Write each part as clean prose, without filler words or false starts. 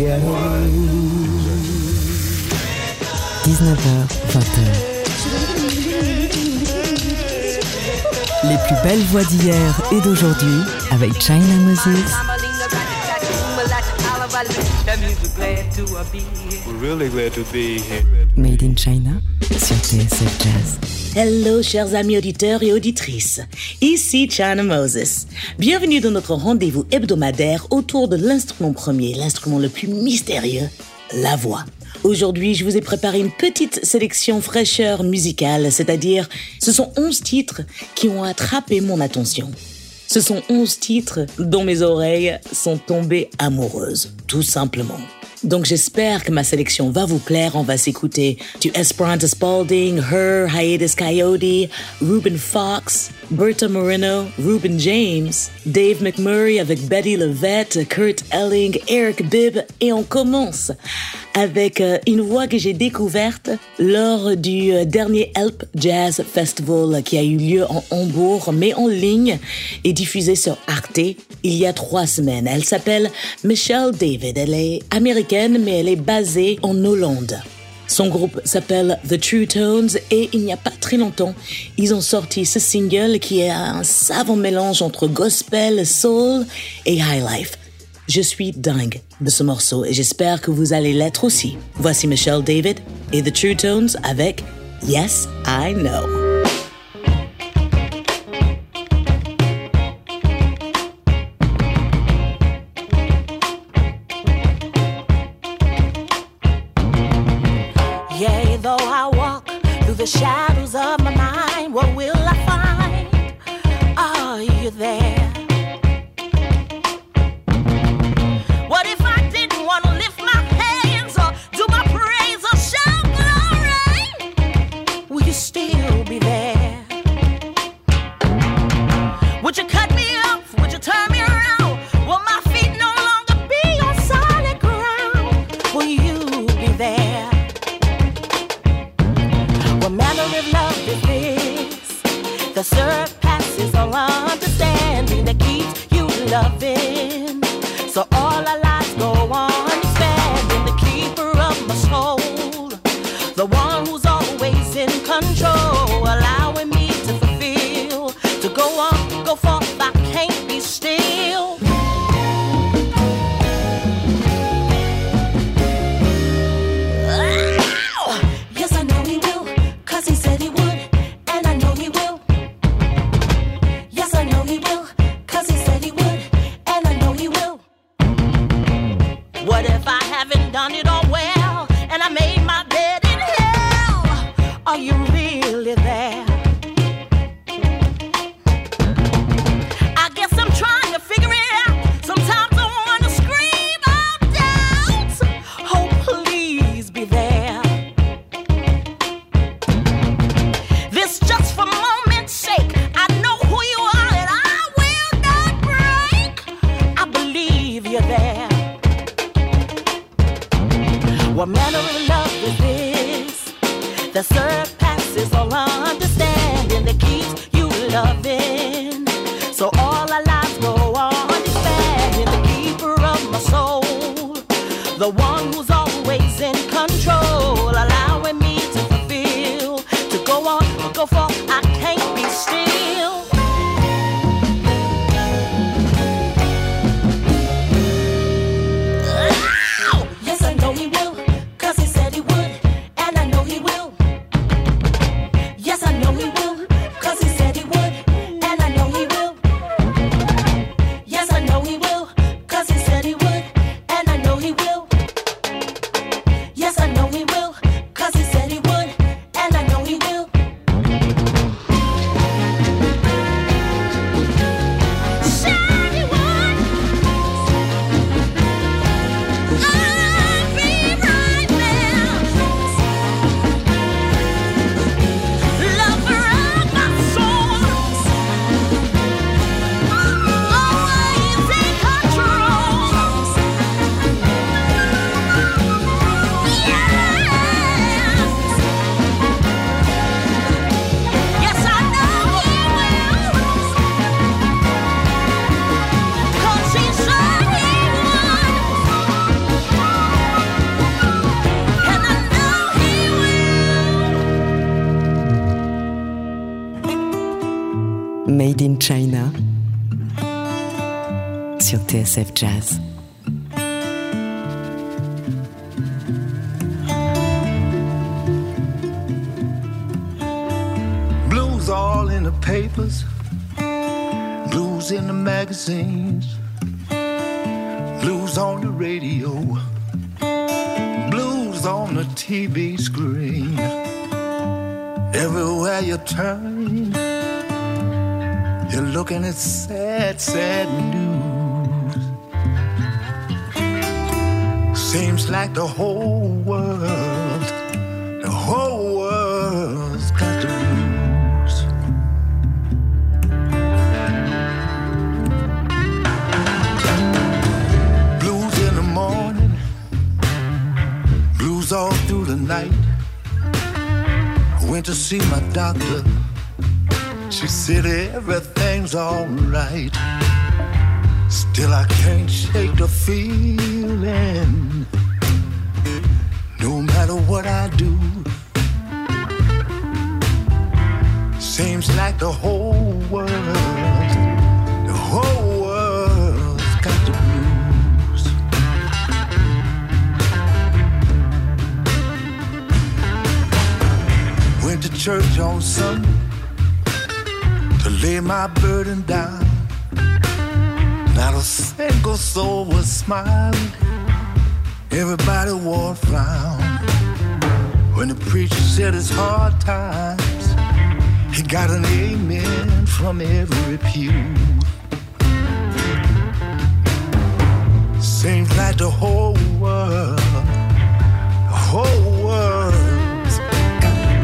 19h, 20h. Les plus belles voix d'hier et d'aujourd'hui avec China Moses. We're really glad to be here. Made in China sur TSF Jazz. Hello chers amis auditeurs et auditrices, ici China Moses. Bienvenue dans notre rendez-vous hebdomadaire autour de l'instrument premier, l'instrument le plus mystérieux, la voix. Aujourd'hui, je vous ai préparé une petite sélection fraîcheur musicale, c'est-à-dire ce sont 11 titres qui ont attrapé mon attention. Ce sont 11 titres dont mes oreilles sont tombées amoureuses, tout simplement. Donc j'espère que ma sélection va vous plaire. On va s'écouter du Esperanza Spalding, Her, Hiatus Coyote, Ruben Fox, Berta Moreno, Ruben James, Dave McMurray avec Betty LaVette, Kurt Elling, Eric Bibb. Et on commence avec une voix que j'ai découverte lors du dernier Help Jazz Festival qui a eu lieu en Hambourg, mais en ligne et diffusé sur Arte il y a 3 semaines. Elle s'appelle Michelle David. Elle est américaine, mais elle est basée en Hollande. Son groupe s'appelle The True Tones et il n'y a pas très longtemps, ils ont sorti ce single qui est un savant mélange entre gospel, soul et high life. Je suis dingue de ce morceau et j'espère que vous allez l'être aussi. Voici Michelle David et The True Tones avec Yes, I Know. Though I walk through the shadows of my mind, what will I find? Are you there? What if I didn't want to lift my hands or do my praise or shout glory? Will you still be there? Would you cut me off? Would you turn me around? Will my feet no longer be on solid ground? Will you be there? What manner of love is this that surpasses all understanding, that keeps you loving? So all our lives go on expanding, the keeper of my soul, the one who's always in control, allowing me to fulfill, to go on, go forth, I can't be still. He said he would, and I know he will. Yes, I know he will, 'cause he said he would, and I know he will. What if I haven't done it all well, and I made my bed in hell? Are you really there? I guess I'm trying to figure it out. Sometimes I want to scream out doubt. Oh, please be there. Just for moment's sake, I know who you are and I will not break. I believe you're there. What manner of love is this that surpasses all understanding, that keeps you loving? So all our lives go on expanding, the keeper of my soul, the one who's always in control, allowing me to fulfill, to go on, go for, I can't be still. Yes, I know he will, 'cause he said he would, and I know he will. Yes, I know he will, 'cause he said he would, and I know he will. Yes, I know he will, 'cause he said he would, and I know he will. Yes, I know he will, 'cause he said he would, and I know he will. Made in China sur TSF Jazz. Blues all in the papers, blues in the magazines, blues on the radio, blues on the TV screen. Everywhere you turn, you're looking at sad, sad news. Seems like the whole world's got the blues. Blues in the morning, blues all through the night. I went to see my doctor. She said everything's alright. Still I can't shake the feeling. No matter what I do, seems like the whole world's got the blues. Went to church on Sunday to lay my burden down. Not a single soul was smiling. Everybody wore a frown. When the preacher said it's hard times, he got an amen from every pew. Seems like the whole world's got the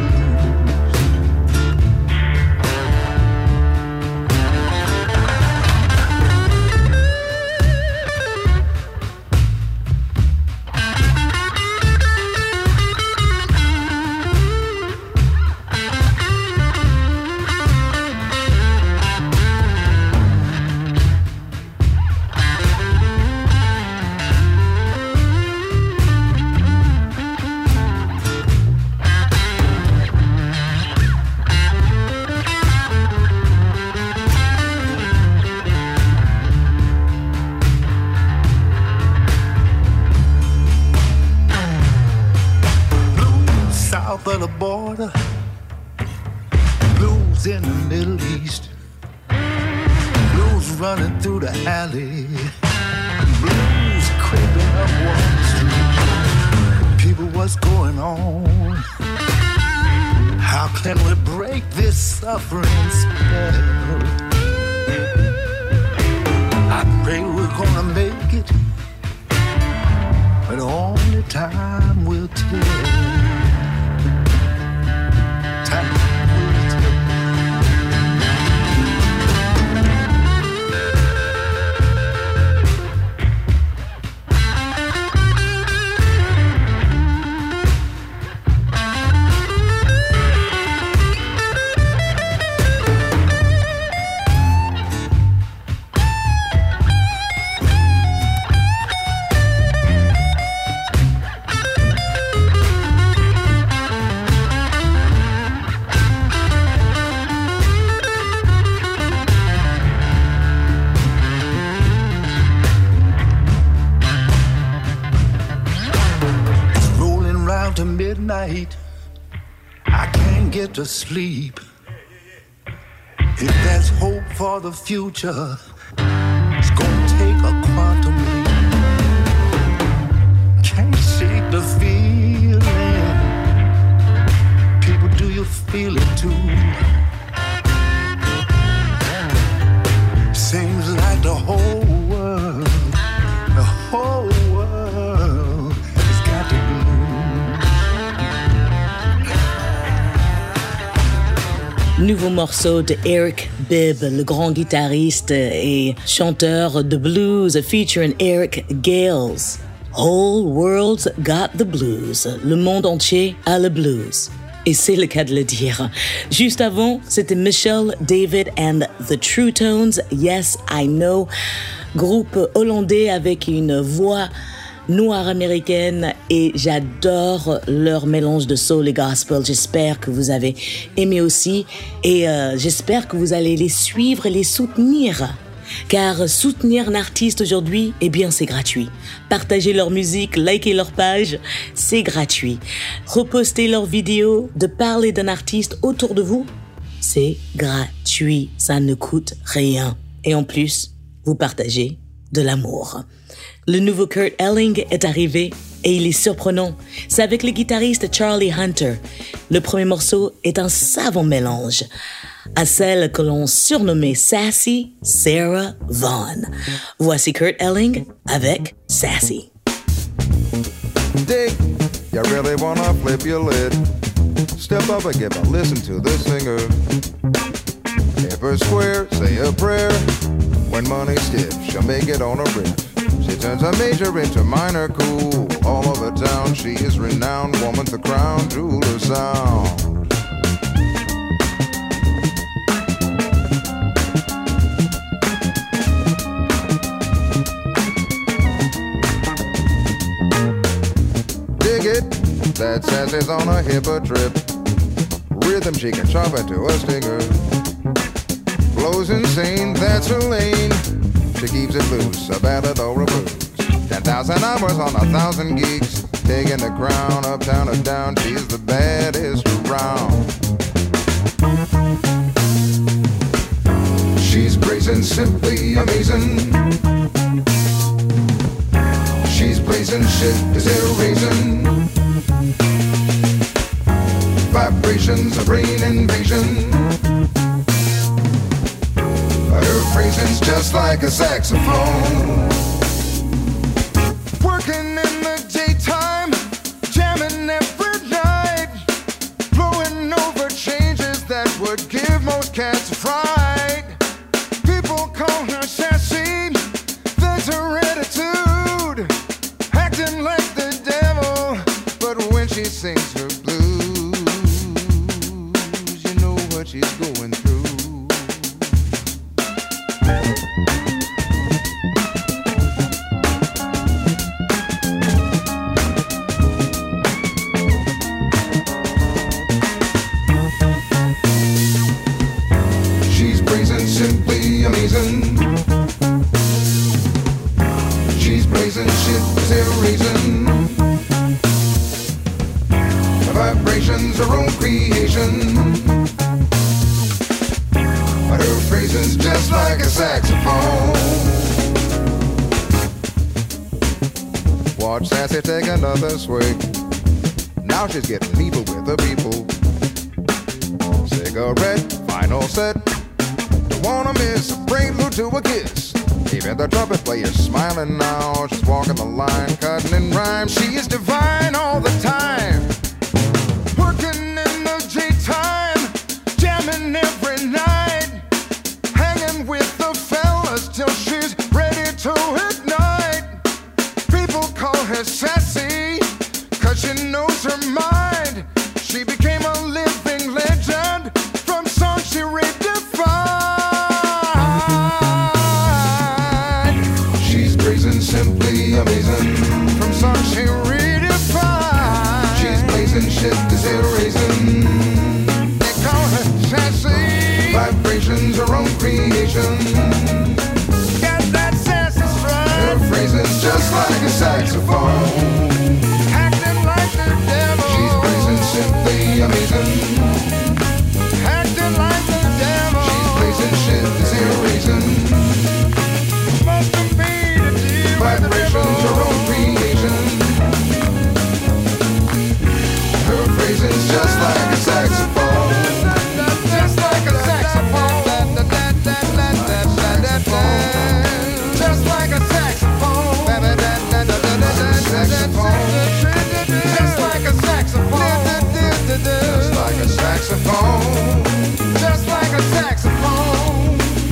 of the border, blues in the Middle East, blues running through the alley, blues creeping up Wall Street. People, what's going on? How can we break this suffering spell? I pray we're gonna make it, but only time will tell. To midnight, I can't get to sleep. If there's hope for the future, it's gonna take a quantum leap. Can't shake the feeling. People, do you feel it too? Seems like the whole world has got to be. Nouveau morceau de Eric Bibb, le grand guitariste et chanteur de blues featuring Eric Gales. Whole world's got the blues. Le monde entier a le blues. Et c'est le cas de le dire. Juste avant, c'était Michelle David and the True Tones. Yes, I know. Groupe hollandais avec une voix noire américaine et j'adore leur mélange de soul et gospel. J'espère que vous avez aimé aussi et j'espère que vous allez les suivre et les soutenir. Car soutenir un artiste aujourd'hui, eh bien c'est gratuit. Partager leur musique, liker leur page, c'est gratuit. Reposter leurs vidéos, de parler d'un artiste autour de vous, c'est gratuit. Ça ne coûte rien. Et en plus, vous partagez de l'amour. Le nouveau Kurt Elling est arrivé et il est surprenant. C'est avec le guitariste Charlie Hunter. Le premier morceau est un savant mélange à celle que l'on surnommait Sassy Sarah Vaughan. Voici Kurt Elling avec Sassy. Dig, you really wanna flip your lid? Step up and give a listen to this singer. If her square, say a prayer. When money's stiff, she'll make it on a riff. She turns a major into minor, cool. All over town, she is renowned. Woman, the crown, jeweler sound. Dig it, that Sassy's on a hipper trip. Rhythm she can chop into a stinger. Flows insane, that's her lane. She keeps it loose, a ballad or a blues. 10,000 hours on 1,000 gigs. Taking the crown, uptown or down. She's the baddest around. She's brazen, simply amazing. She's blazing shit, is there a reason? Vibrations, a brain invasion. Her phrasing's just like a saxophone. Working in the daytime, jamming every night, blowing over changes that would give most cats a fright. People call her sassy, that's her attitude, acting like the devil, but when she sings her blues, you know what she's going through. She's brazen, simply amazing. She's blazing shit, is there a reason? Her vibrations, her own creation. But her phrasing's just like a saxophone. Watch Sassy take another swig. Now she's getting people with the people. Cigarette, final set. Don't wanna miss a prelude to a kiss. Even the trumpet player's smiling now. She's walking the line, cutting in rhyme. She is divine all the time. Working in the daytime, jamming every night, hanging with the fellas till she's ready to ignite. People call her sassy, cause she knows her mind. She became a living legend from songs she redefined. She's brazen, simply amazing, from songs she redefined. She's blazing shit, is there a reason? They call her sassy. Vibrations, her own creation. Got that sassy strut. Her phrasing's just like a saxophone. Acting like the devil. She's blazing, simply amazing. Acting like the devil. She's blazing shit, is there a reason? Must have been a deal. Vibrations, her own creation. Her phrasing's just like a saxophone. Just like a saxophone. Just like a saxophone. Just like a saxophone. Just like a saxophone. Just like a saxophone.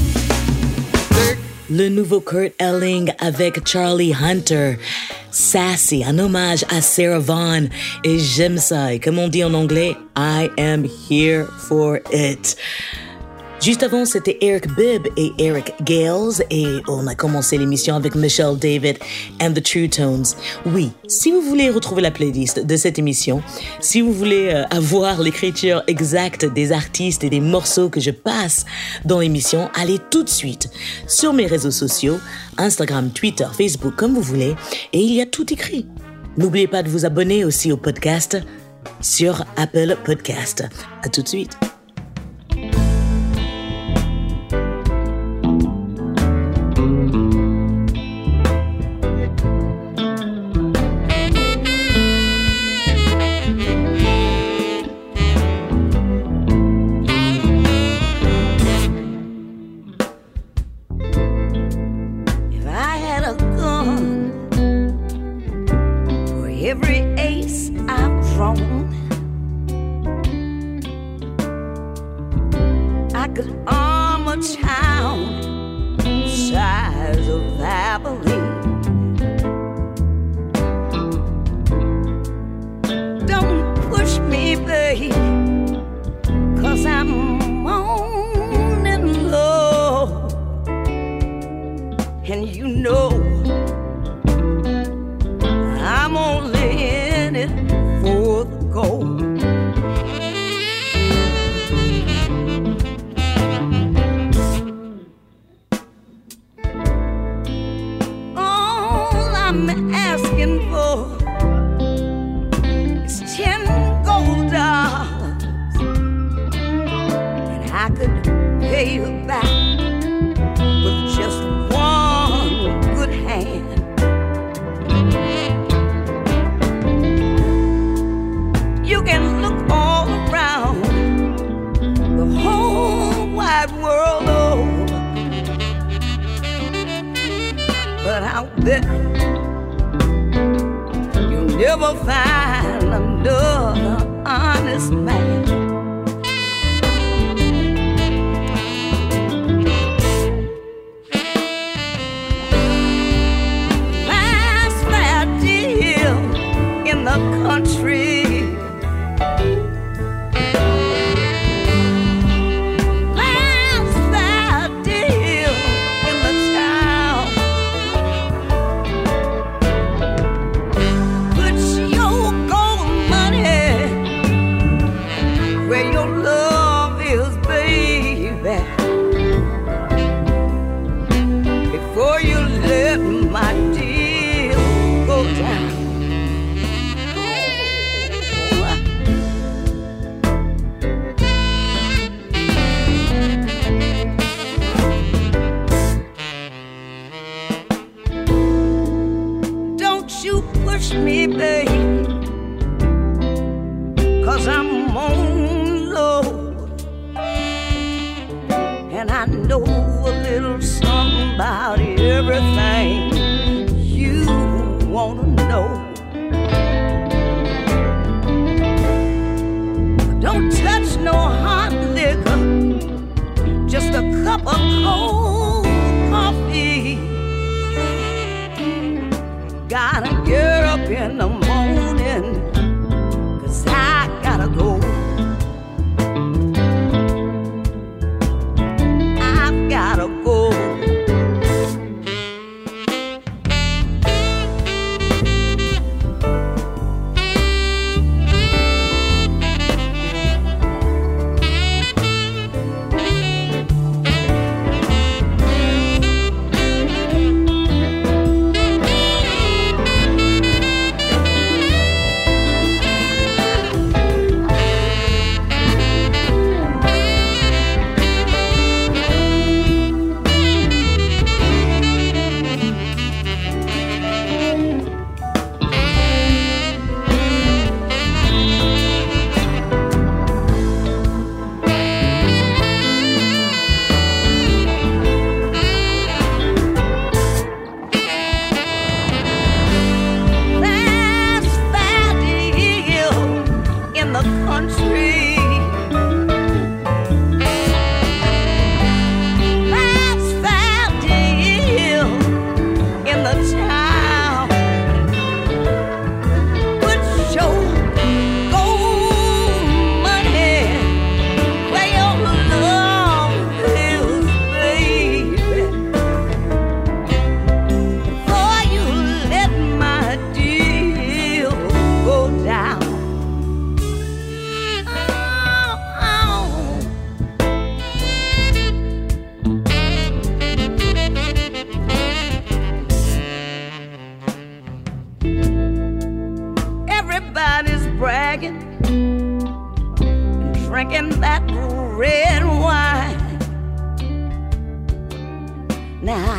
Le nouveau Kurt Elling avec Charlie Hunter. Sassy, un hommage à Sarah Vaughan. Et j'aime ça. Et comme on dit en anglais, I am here for it. Juste avant, c'était Eric Bibb et Eric Gales et on a commencé l'émission avec Michelle David and the True Tones. Oui, si vous voulez retrouver la playlist de cette émission, si vous voulez avoir l'écriture exacte des artistes et des morceaux que je passe dans l'émission, allez tout de suite sur mes réseaux sociaux, Instagram, Twitter, Facebook, comme vous voulez, et il y a tout écrit. N'oubliez pas de vous abonner aussi au podcast sur Apple Podcast. À tout de suite.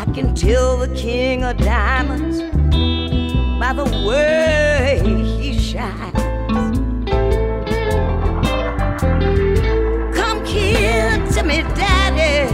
can tell the king of diamonds by the way he shines. Come kiss me, daddy,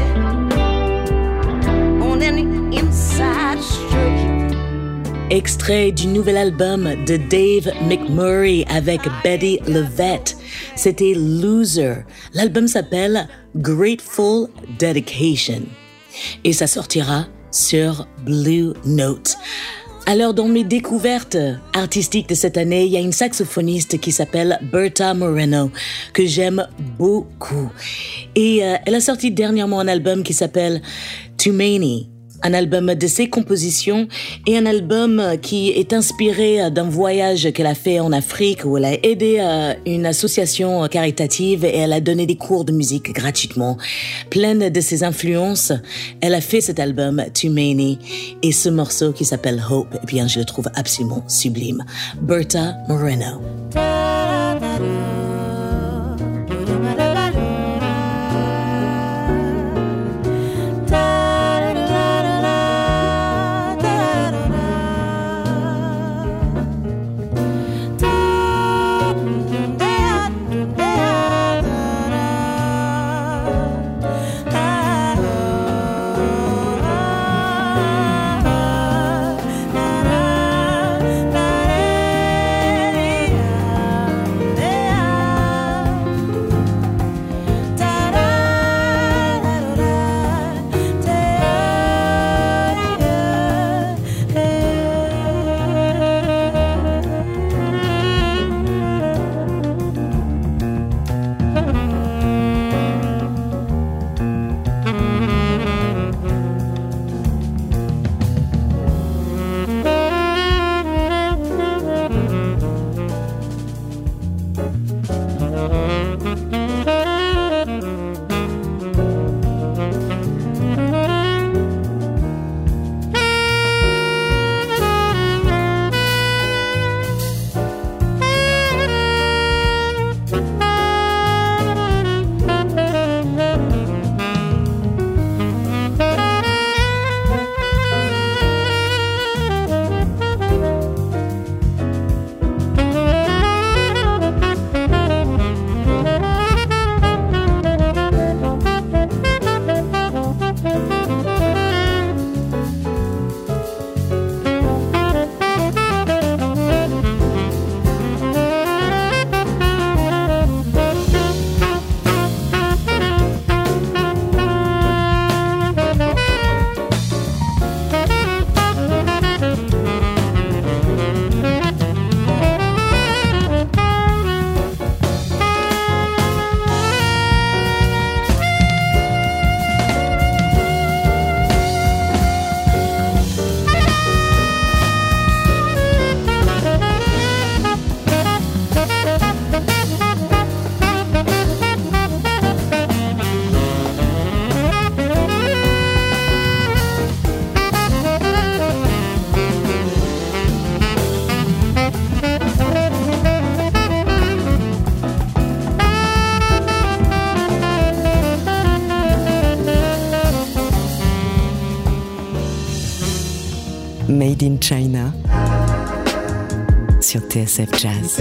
on an inside street. Extrait du nouvel album de Dave McMurray avec Betty LaVette. C'était Loser. L'album s'appelle Grateful Dedication. Et ça sortira sur Blue Note. Alors, dans mes découvertes artistiques de cette année, il y a une saxophoniste qui s'appelle Berta Moreno, que j'aime beaucoup. Et elle a sorti dernièrement un album qui s'appelle Too Many. Un album de ses compositions et un album qui est inspiré d'un voyage qu'elle a fait en Afrique où elle a aidé une association caritative et elle a donné des cours de musique gratuitement. Pleine de ses influences, elle a fait cet album Too Many et ce morceau qui s'appelle Hope, eh bien je le trouve absolument sublime. Berta Moreno. Made in China sur TSF Jazz.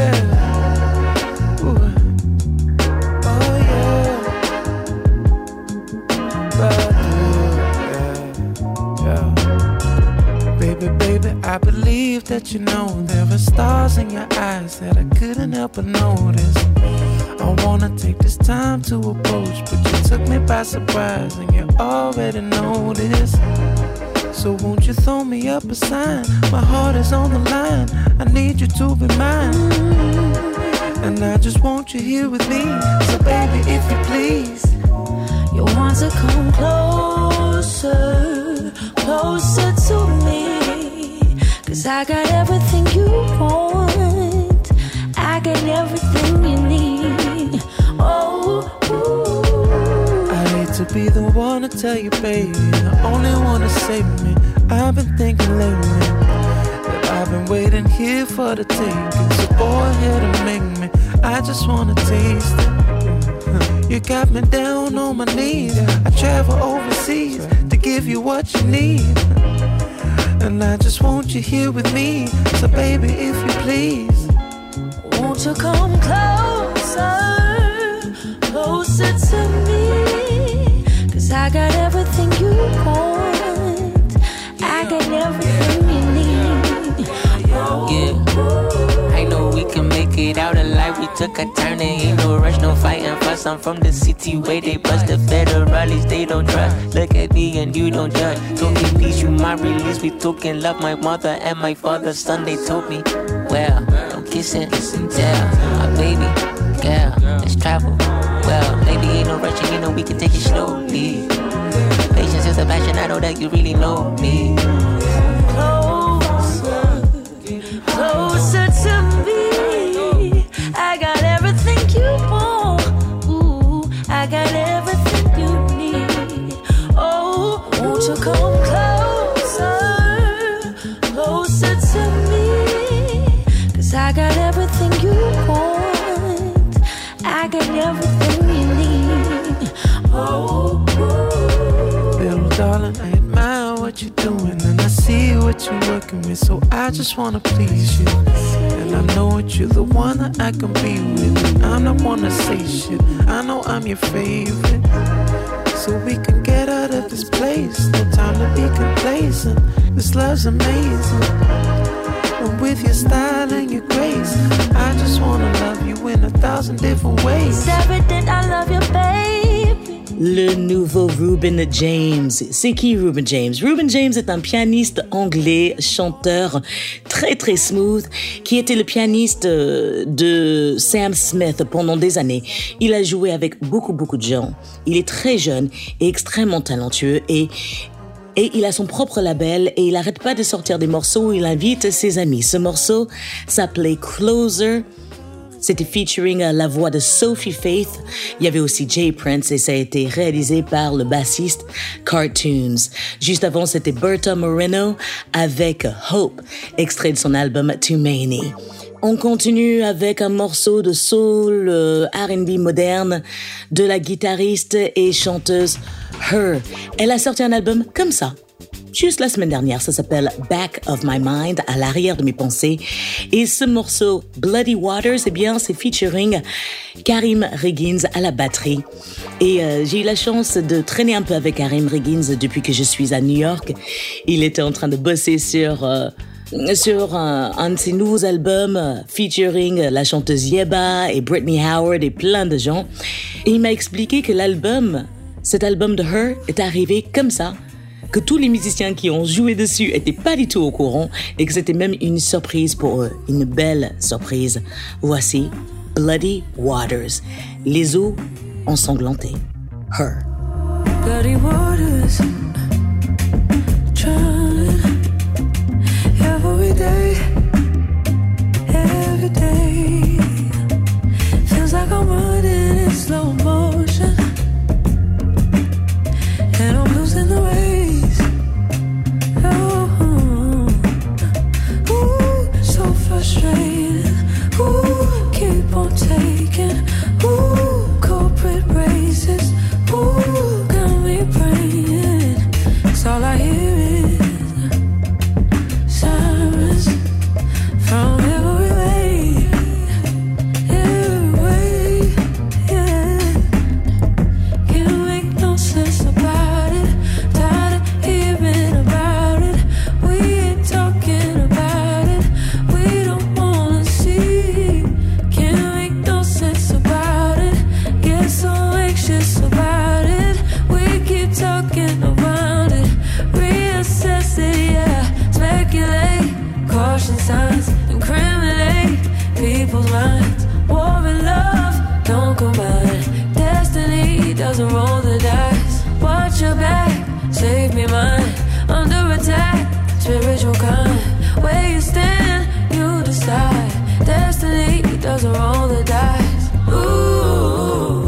Baby, I believe that you know there are stars in your eyes that I couldn't help but notice. I wanna take this time to approach, but you took me by surprise and you already know this. So won't you throw me up a sign? My heart is on the line, I need you to be mine. And I just want you here with me. So baby, if you please, you want to come closer, closer to me. 'Cause I got everything you want, I got everything you need. Oh, ooh. I hate to be the one to tell you, baby, the only one to save me. I've been thinking lately that I've been waiting here for the taking. So go ahead and make me, I just wanna taste it. You got me down on my knees. I travel overseas to give you what you need. And I just want you here with me. So baby, if you please, won't you come closer, closer to me? 'Cause I got everything you want, I got everything you need. Yeah, I know we can make it out alive. We took a turn and ain't no rush, no fighting fuss. I'm from the city where they bust the federalists, they don't trust. Look at me and you don't judge. Talking peace, you my release. We talking love, my mother and my father's son. They told me, well, don't kiss and tell. My baby, girl, let's travel. Well, maybe ain't no rushing, you know we can take it slowly. Patience is a passion, I know that you really know me. Closer to me, I got everything you want. Ooh, I got everything you need. Oh, won't you come closer, closer to me? 'Cause I got everything you want, I got everything you need. Oh, little darling, I admire what you're doing, and I see what you're working with, so I just wanna please you. And I know that you're the one that I can be with, and I'm not one to say shit, I know I'm your favorite. So we can get out of this place, no time to be complacent. This love's amazing, and with your style and your grace, I just wanna love you in 1,000 different ways. it's everything, I love you, baby. Le nouveau Reuben James. C'est qui Reuben James? Reuben James est un pianiste anglais, chanteur très très smooth, qui était le pianiste de Sam Smith pendant des années. Il a joué avec beaucoup de gens. Il est très jeune et extrêmement talentueux et il a son propre label et il n'arrête pas de sortir des morceaux où il invite ses amis. Ce morceau s'appelait Closer. C'était featuring la voix de Sophie Faith. Il y avait aussi Jay Prince et ça a été réalisé par le bassiste Cartoons. Juste avant, c'était Berta Moreno avec Hope, extrait de son album Too Many. On continue avec un morceau de soul R&B moderne de la guitariste et chanteuse Her. Elle a sorti un album comme ça. Juste la semaine dernière, ça s'appelle Back of My Mind, à l'arrière de mes pensées. Et ce morceau, Bloody Waters, eh bien, c'est featuring Karim Riggins à la batterie. Et j'ai eu la chance de traîner un peu avec Karim Riggins depuis que je suis à New York. Il était en train de bosser sur un de ses nouveaux albums featuring la chanteuse Yeba et Brittany Howard et plein de gens. Et il m'a expliqué que cet album de Her est arrivé comme ça, que tous les musiciens qui ont joué dessus étaient pas du tout au courant et que c'était même une surprise pour eux, une belle surprise. Voici Bloody Waters, les eaux ensanglantées. Her. Bloody waters, drowning every day, every day. Feels like I'm running in slow motion, and I'm losing the race. Frustrated, ooh, keep on taking, ooh, corporate races, ooh, got me praying. It's all I hear is sirens from every way, yeah. Can't make no sense about it, tired of hearing about it. We ain't talking about it. Talking around it, reassess it, yeah. Speculate, caution signs, incriminate people's minds. War and love don't combine. Destiny doesn't roll the dice. Watch your back, save me mine. Under attack, spiritual kind. Where you stand, you decide. Destiny doesn't roll the dice. Ooh.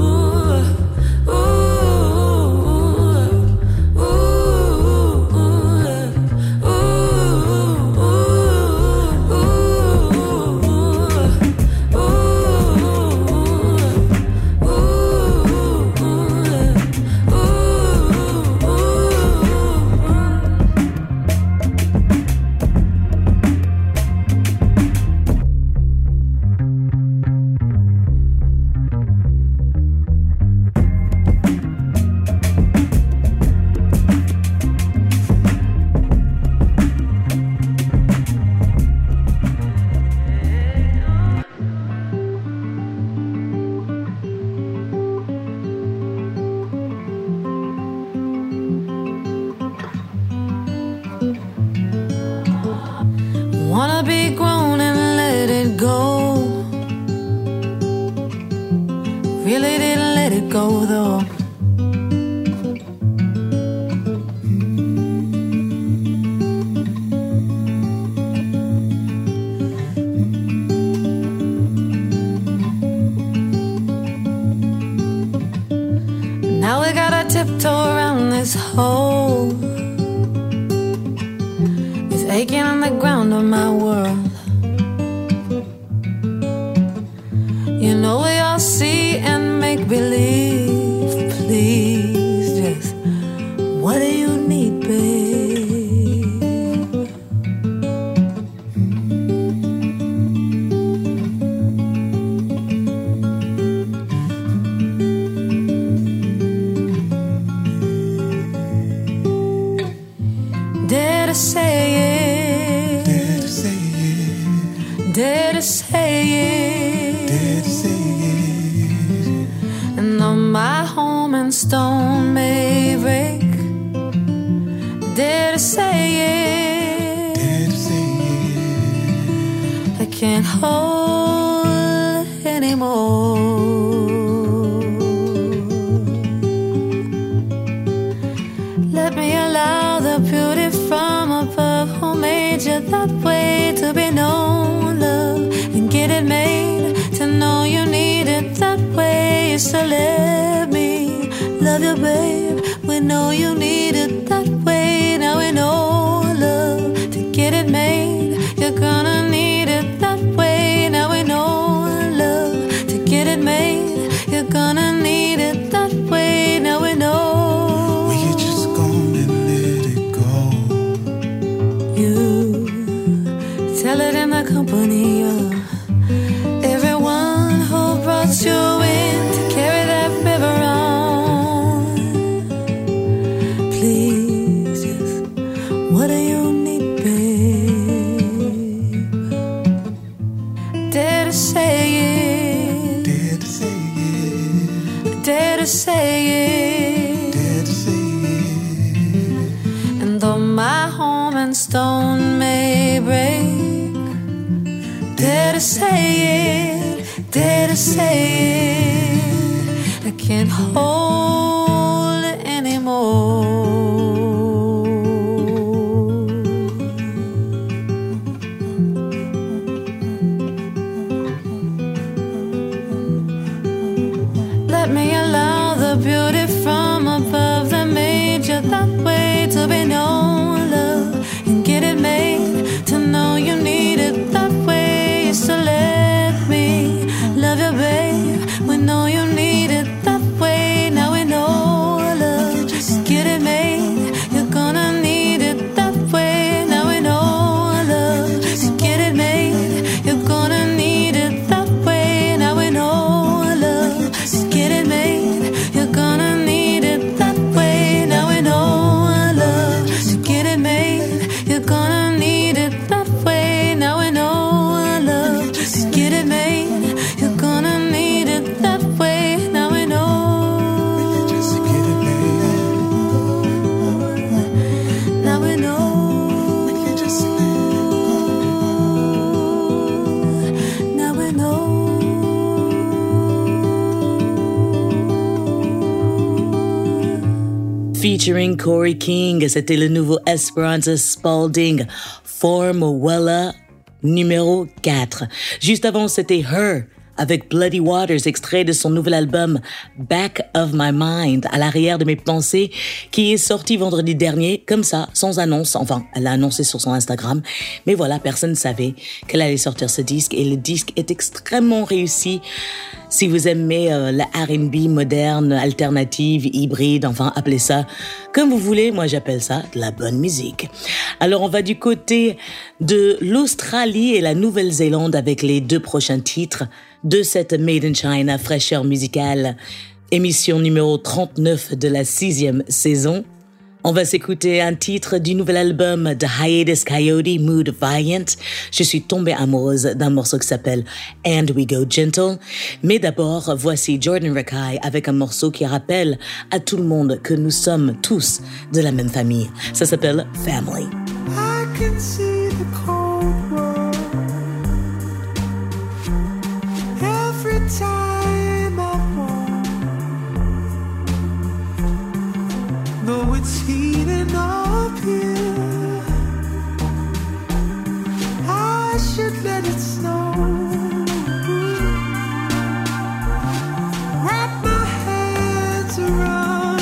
Now we gotta tiptoe around this hole. It's aching on the ground of my world. You know we all see and make believe. Please, just what do you need, babe? Dare to say it. Dare to say it. Dare to say it. Dare to say it. And though my home and stone may break, dare to say it. Dare to say it. I can't hold anymore. Let me allow the beauty from above who made you that way to be known, love, and get it made to know you need it that way. So let me love you, babe. We know you need it that way. Now we know, love, to get it made, you're gonna need it that way. Now we know, love, to get it made, you're gonna need it that way. Now we know. Tell it in the company of everyone who brought you in to carry that river on. Please, just what do you need, babe? Dare to say it. Dare to say it. Dare to say it. Dare to say it. And though my home and stone may break, dare to say it, dare to say it. I can't hold it anymore. Let me allow the beauty from above that made you that way to be known, love, and get it made to know you need it that way. So let me love you, babe. We know you need it that way. Now we know, love, just get it made. You're gonna need it that way. Now we know, love, just get it made. You're gonna need it that way. Now we know, love, just get it made. You're gonna need it that way. Now we know, love, to get it made. You're gonna need it that way. Now we know. Get it made, you're gonna need it that way. Now we know. We can just get it made. Now we know. We can just get it. Now we know. Featuring Corey King, c'était le nouveau Esperanza Spalding, Formula numéro 4. Juste avant, c'était Her avec Bloody Waters, extrait de son nouvel album Back of My Mind, à l'arrière de mes pensées, qui est sorti vendredi dernier, comme ça, sans annonce. Enfin, elle l'a annoncé sur son Instagram, mais voilà, personne ne savait qu'elle allait sortir ce disque, et le disque est extrêmement réussi. Si vous aimez la R&B moderne, alternative, hybride, enfin, appelez ça comme vous voulez, moi j'appelle ça de la bonne musique. Alors on va du côté de l'Australie et la Nouvelle-Zélande avec les 2 prochains titres de cette Made in China fraîcheur musicale, émission numéro 39 de la 6e saison. On va s'écouter un titre du nouvel album de Hiatus Coyote, Mood Valiant. Je suis tombée amoureuse d'un morceau qui s'appelle And We Go Gentle. Mais d'abord, voici Jordan Rakei avec un morceau qui rappelle à tout le monde que nous sommes tous de la même famille. Ça s'appelle Family. I can see the cold world every time I walk, though it's heating up here. I should let it snow. Wrap my hands around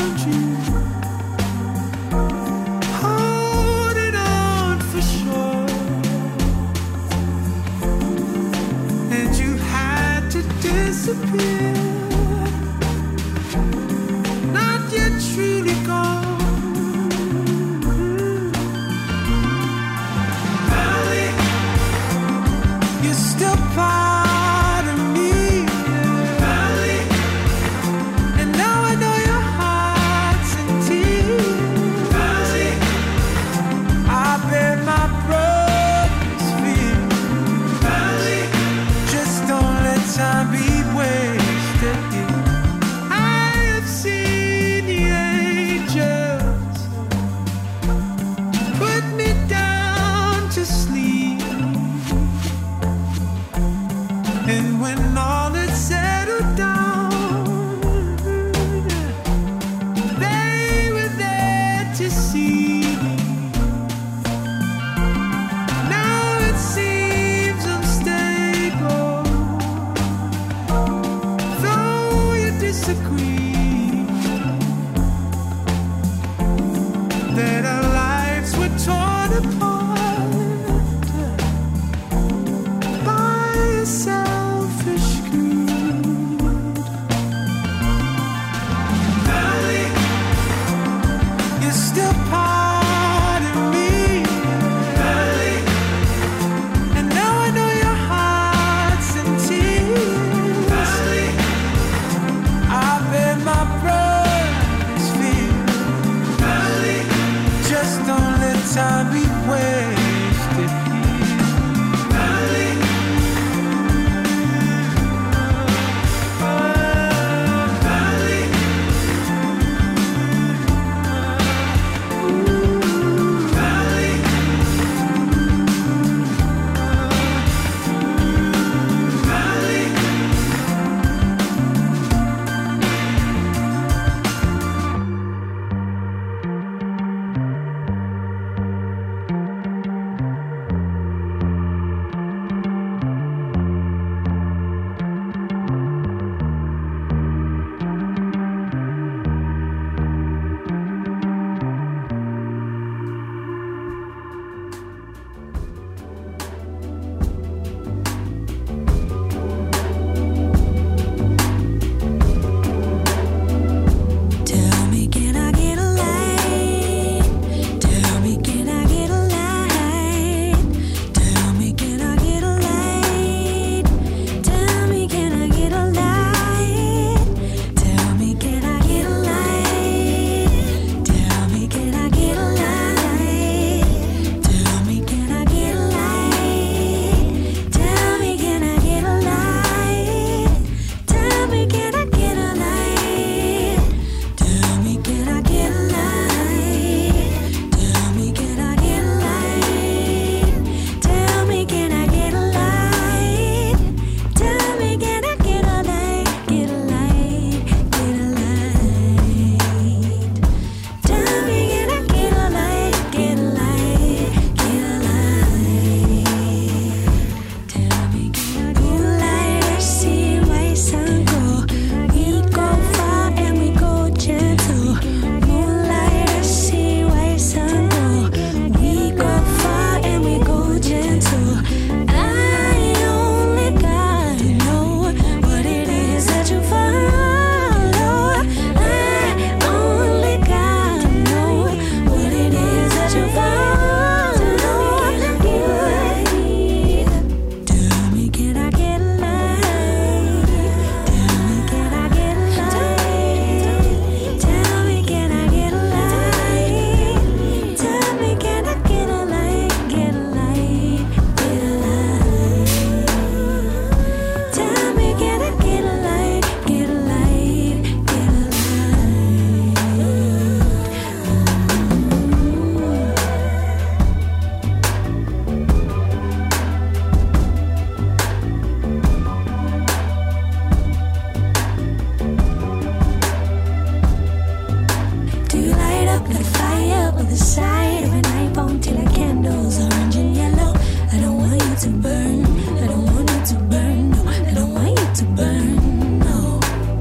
up like fire on the side of an iPhone till the candles orange and yellow. I don't want you to burn. I don't want you to burn. No, I don't want you to burn. No.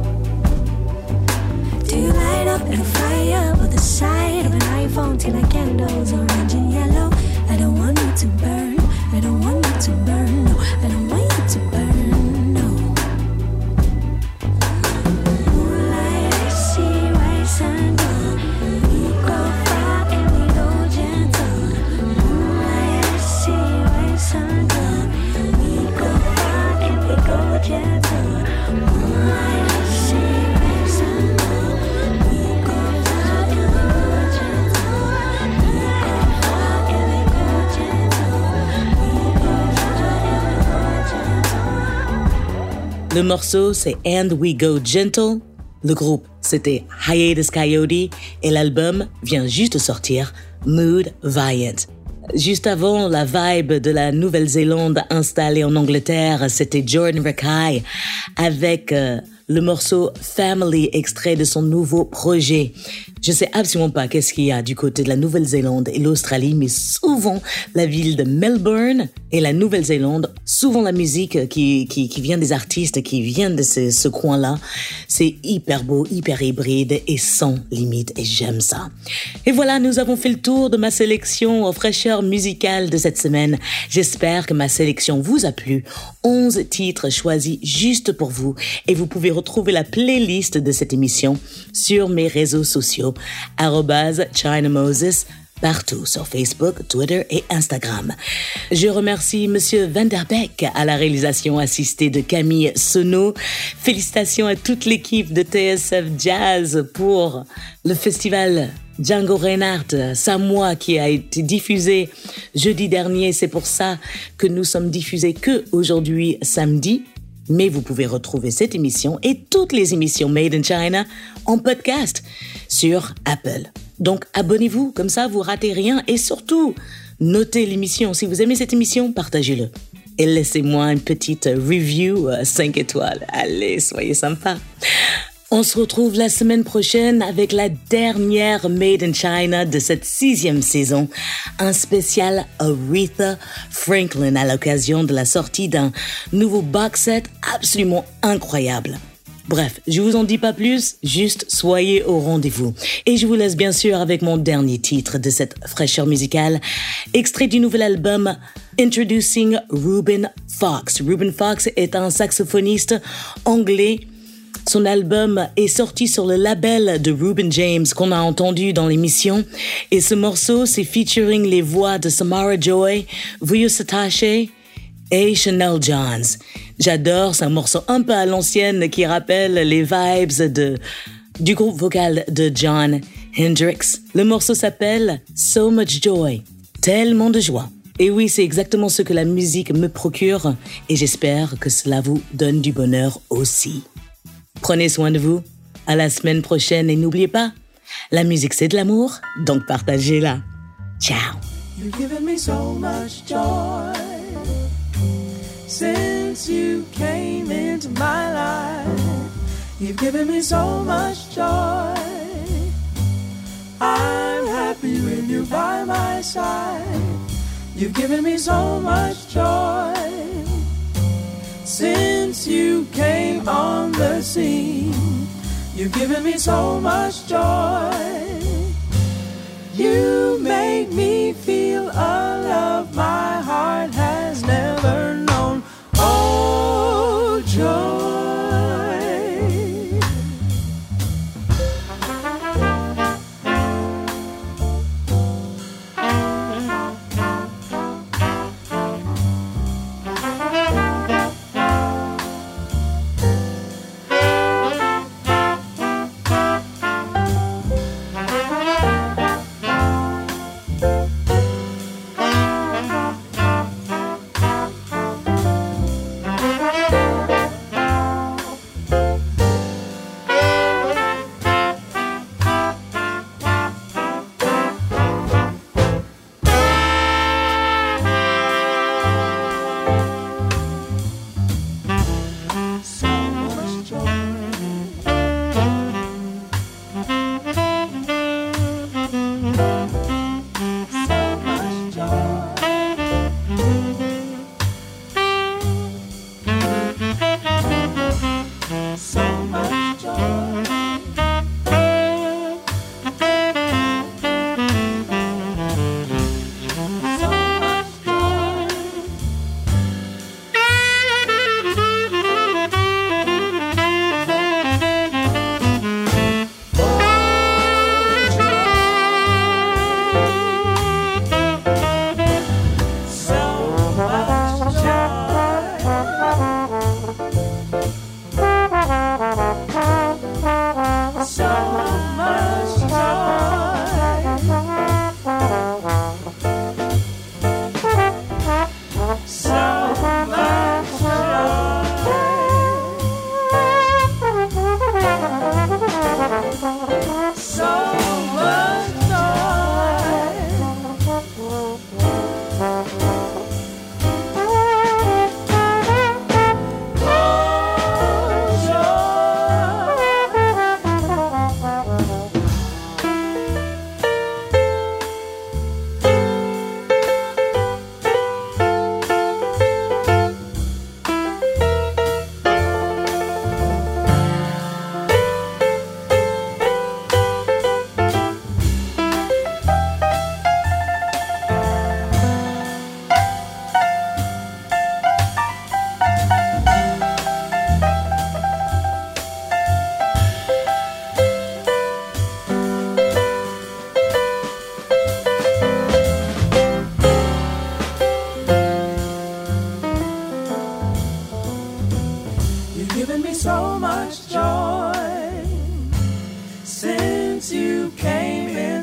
Do you light up like fire on the side of an iPhone till the candles orange and yellow? I don't want you to burn. I don't want you to burn. No, I don't want you to burn. No. Moonlight, I see white sun. We go far and we go gentle. Moonlight, I see white sun. We go far and we go gentle. Moonlight, I see white sun. We go far and we go gentle. We go far and we go gentle. We go far and we go gentle. Le morceau, c'est And We Go Gentle. Le groupe, c'était Hiatus Kaiyote et l'album vient juste de sortir, Mood Viant. Juste avant, la vibe de la Nouvelle-Zélande installée en Angleterre, c'était Jordan Rakei avec le morceau Family, extrait de son nouveau projet. Je sais absolument pas qu'est-ce qu'il y a du côté de la Nouvelle-Zélande et l'Australie, mais souvent la ville de Melbourne et la Nouvelle-Zélande, souvent la musique qui vient des artistes qui viennent de ce coin-là, c'est hyper beau, hyper hybride et sans limite, et j'aime ça. Et voilà, nous avons fait le tour de ma sélection aux fraîcheurs musicales de cette semaine. J'espère que ma sélection vous a plu. 11 titres choisis juste pour vous, et vous pouvez retrouver la playlist de cette émission sur mes réseaux sociaux, @ChinaMoses, partout sur Facebook, Twitter et Instagram. Je remercie Monsieur Van Der Beek à la réalisation assistée de Camille Sono. Félicitations à toute l'équipe de TSF Jazz pour le festival Django Reinhardt, Samoa, qui a été diffusé jeudi dernier. C'est pour ça que nous sommes diffusés que aujourd'hui, samedi. Mais vous pouvez retrouver cette émission et toutes les émissions Made in China en podcast sur Apple. Donc abonnez-vous, comme ça vous ratez rien, et surtout notez l'émission. Si vous aimez cette émission, partagez-le. Et laissez-moi une petite review 5 étoiles. Allez, soyez sympa. On se retrouve la semaine prochaine avec la dernière Made in China de cette 6e saison, un spécial Aretha Franklin à l'occasion de la sortie d'un nouveau box set absolument incroyable. Bref, je vous en dis pas plus, juste soyez au rendez-vous. Et je vous laisse bien sûr avec mon dernier titre de cette fraîcheur musicale, extrait du nouvel album Introducing Reuben Fox. Reuben Fox est un saxophoniste anglais. Son album est sorti sur le label de Reuben James qu'on a entendu dans l'émission. Et ce morceau, c'est featuring les voix de Samara Joy, Vuyo Satache et Chanel Johns. J'adore, c'est un morceau un peu à l'ancienne qui rappelle les vibes du groupe vocal de Jon Hendricks. Le morceau s'appelle So Much Joy, tellement de joie. Et oui, c'est exactement ce que la musique me procure et j'espère que cela vous donne du bonheur aussi. Prenez soin de vous, à la semaine prochaine et n'oubliez pas, la musique c'est de l'amour, donc partagez-la. Ciao. You've given me so much joy since you came into my life. You've given me so much joy. I'm happy when you're by my side. You've given me so much joy since you came on the scene. You've given me so much joy. You make me feel a love my heart has never known. Oh, joy.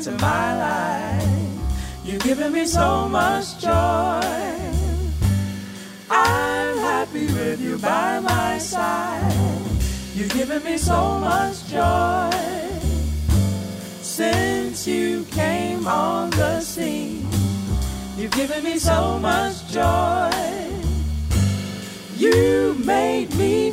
into my life. You've given me so much joy. I'm happy with you by my side. You've given me so much joy. Since you came on the scene, you've given me so much joy. You made me